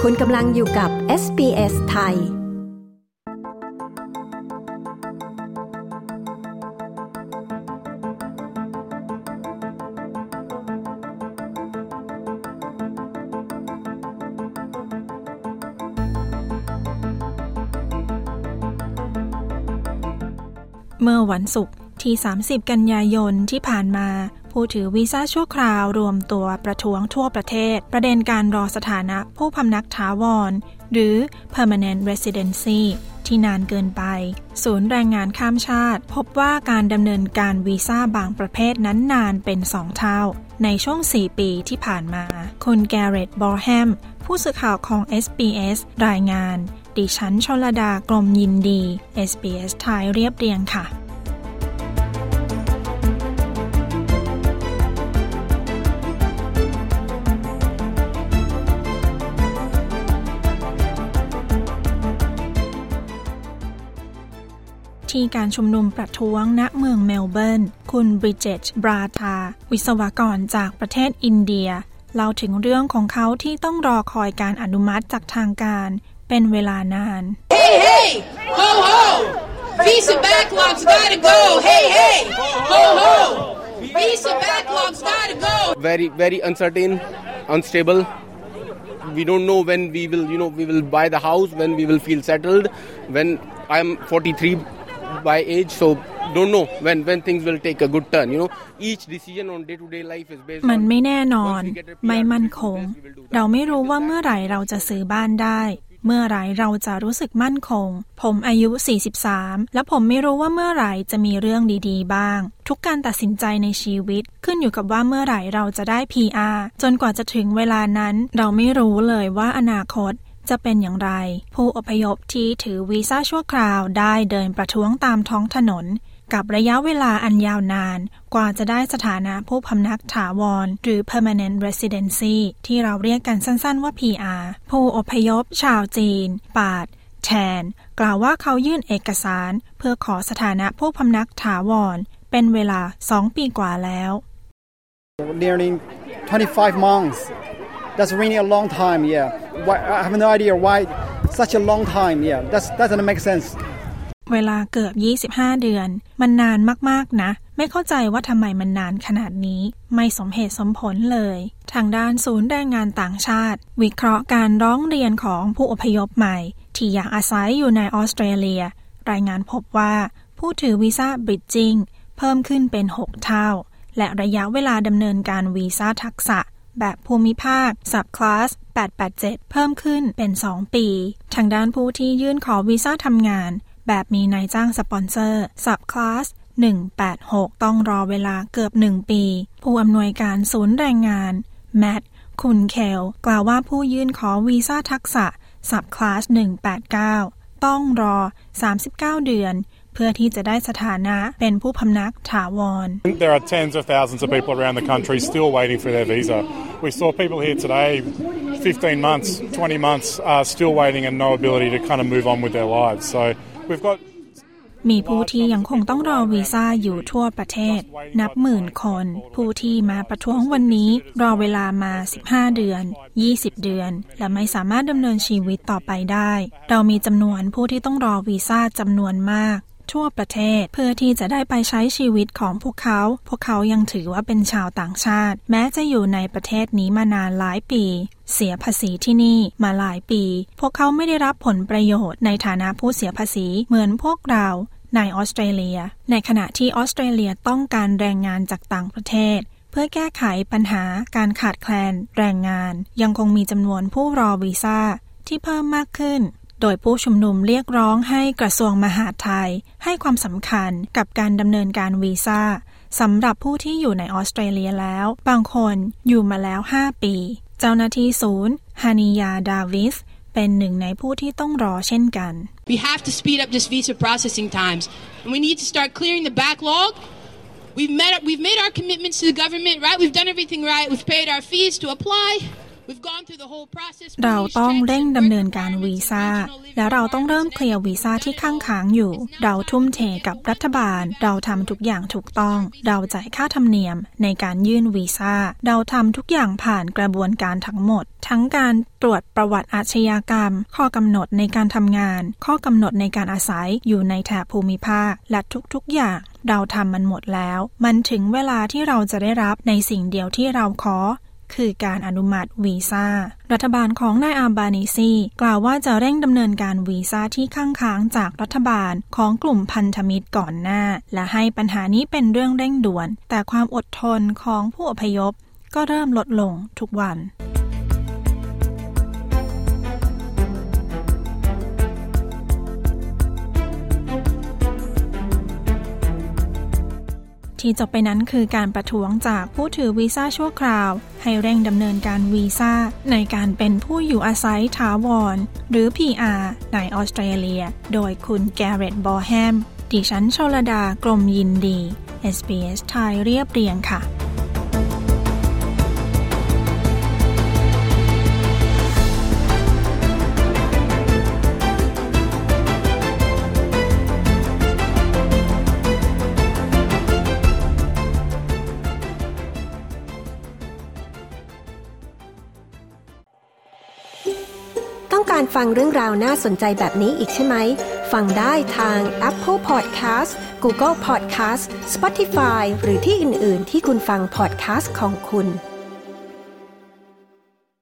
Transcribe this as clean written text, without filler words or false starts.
คุณกำลังอยู่กับ SBS ไทยเมื่อวันศุกร์ที่30กันยายนที่ผ่านมาผู้ถือวีซ่าชั่วคราวรวมตัวประท้วงทั่วประเทศประเด็นการรอสถานะผู้พำนักถาวรหรือ Permanent Residency ที่นานเกินไปศูนย์แรงงานข้ามชาติพบว่าการดำเนินการวีซ่าบางประเภทนั้นนานเป็น2เท่าในช่วง4ปีที่ผ่านมาคุณแกเรตบอร์แฮมผู้สื่อข่าวของ SBS รายงานดิฉันชลดากลมยินดี SBS ไทยเรียบเรียงค่ะที่การชุมนุมประท้วงณเมืองเมลเบิร์นคุณบริดเจตบราธาวิศวกรจากประเทศอินเดียเล่าถึงเรื่องของเขาที่ต้องรอคอยการอนุมัติจากทางการเป็นเวลานาน Hey hey ho ho visa backlogs gotta go hey hey ho ho visa backlogs gotta go very uncertain unstable we don't know when we will buy the house when we will feel settled when I'm 43 by age so don't know when things will take a good turn each decision on day to day life is based มันไม่แน่นอนไม่มั่นคงเราไม่รู้ว่าเมื่อไหร่เราจะซื้อบ้านได้เมื่อไหร่เราจะรู้สึกมั่นคงผมอายุ43และผมไม่รู้ว่าเมื่อไหร่จะมีเรื่องดีๆบ้างทุกการตัดสินใจในชีวิตขึ้นอยู่กับว่าเมื่อไหร่เราจะได้ PR จนกว่าจะถึงเวลานั้นเราไม่รู้เลยว่าอนาคตจะเป็นอย่างไรผู้อพยพที่ถือวีซ่าชั่วคราวได้เดินประท้วงตามท้องถนนกับระยะเวลาอันยาวนานกว่าจะได้สถานะผู้พำนักถาวรหรือ Permanent Residency ที่เราเรียกกันสั้นๆว่า PR ผู้อพยพชาวจีนปาดแทนกล่าวว่าเขายื่นเอกสารเพื่อขอสถานะผู้พำนักถาวรเป็นเวลา2ปีกว่าแล้ว Nearly 25 months That's really a long time I have no idea why such a long time that doesn't make sense เวลาเกือบ25เดือนมันนานมากๆนะไม่เข้าใจว่าทำไมมันนานขนาดนี้ไม่สมเหตุสมผลเลยทางด้านศูนย์แรงงานต่างชาติวิเคราะห์การร้องเรียนของผู้อพยพใหม่ที่อยากอาศัยอยู่ในออสเตรเลียรายงานพบว่าผู้ถือวีซ่าบริดจิ้งเพิ่มขึ้นเป็น6เท่าและระยะเวลาดำเนินการวีซ่าทักษะแบบภูมิภาค Subclass 887 เพิ่มขึ้นเป็น2ปีทางด้านผู้ที่ยื่นขอวีซ่าทำงานแบบมีนายจ้างสปอนเซอร์ Subclass 186 ต้องรอเวลาเกือบ1ปีผู้อำนวยการศูนย์แรงงานแมทคุนเคลกล่าวว่าผู้ยื่นขอวีซ่าทักษะ Subclass 189 ต้องรอ39เดือนเพื่อที่จะได้สถานะเป็นผู้พำนักถาวร There are tens of thousands of people around the country still waiting for their visa. We saw people here today 15 months, 20 months still waiting and no ability to kind of move on with their lives. So we've got มีผู้ที่ยังคงต้องรอวีซ่าอยู่ทั่วประเทศนับหมื่นคนผู้ที่มาประท้วงวันนี้รอเวลามา15เดือน20เดือนและไม่สามารถดำเนินชีวิตต่อไปได้เรามีจำนวนผู้ที่ต้องรอวีซ่าจำนวนมากทั่วประเทศเพื่อที่จะได้ไปใช้ชีวิตของพวกเขายังถือว่าเป็นชาวต่างชาติแม้จะอยู่ในประเทศนี้มานานหลายปีเสียภาษีที่นี่มาหลายปีพวกเขาไม่ได้รับผลประโยชน์ในฐานะผู้เสียภาษีเหมือนพวกเราในออสเตรเลียในขณะที่ออสเตรเลียต้องการแรงงานจากต่างประเทศเพื่อแก้ไขปัญหาการขาดแคลนแรงงานยังคงมีจำนวนผู้รอวีซ่าที่เพิ่มมากขึ้นโดยผู้ชุมนุมเรียกร้องให้กระทรวงมหาดไทยให้ความสำคัญกับการดำเนินการวีซ่าสำหรับผู้ที่อยู่ในออสเตรเลียแล้วบางคนอยู่มาแล้ว5ปีเจ้าหน้าที่ศูนย์ฮานิยาดาวิสเป็นหนึ่งในผู้ที่ต้องรอเช่นกัน We have to speed up this visa processing times and we need to start clearing the backlog. We've made our commitments to the government, right? We've done everything right. We've paid our fees to apply. เราต้องเร่งดำเนินการวีซ่าและเราต้องเริ่มเคลียร์วีซ่าที่ค้างอยู่เราทุ่มเทกับรัฐบาลเราทำทุกอย่างถูกต้องเราจ่ายค่าธรรมเนียมในการยื่นวีซ่าเราทำทุกอย่างผ่านกระบวนการทั้งหมดทั้งการตรวจประวัติอาชญากรรมข้อกำหนดในการทำงานข้อกำหนดในการอาศัยอยู่ในแถบภูมิภาคและทุกๆอย่างเราทำมันหมดแล้วมันถึงเวลาที่เราจะได้รับในสิ่งเดียวที่เราขอคือการอนุมัติวีซ่ารัฐบาลของนายอัลบานีซีกล่าวว่าจะเร่งดำเนินการวีซ่าที่ค้างจากรัฐบาลของกลุ่มพันธมิตรก่อนหน้าและให้ปัญหานี้เป็นเรื่องเร่งด่วนแต่ความอดทนของผู้อพยพก็เริ่มลดลงทุกวันที่จบไปนั้นคือการประท้วงจากผู้ถือวีซ่าชั่วคราวให้เร่งดำเนินการวีซ่าในการเป็นผู้อยู่อาศัยถาวรหรือ PR ในออสเตรเลียโดยคุณแกเร็ต บอแฮมดิฉันชลดากรมยินดี SBS ไทยเรียบเรียงค่ะต้องการฟังเรื่องราวน่าสนใจแบบนี้อีกใช่ไหมฟังได้ทาง Apple Podcast Google Podcast Spotify หรือที่อื่นๆที่คุณฟัง podcast ของคุณ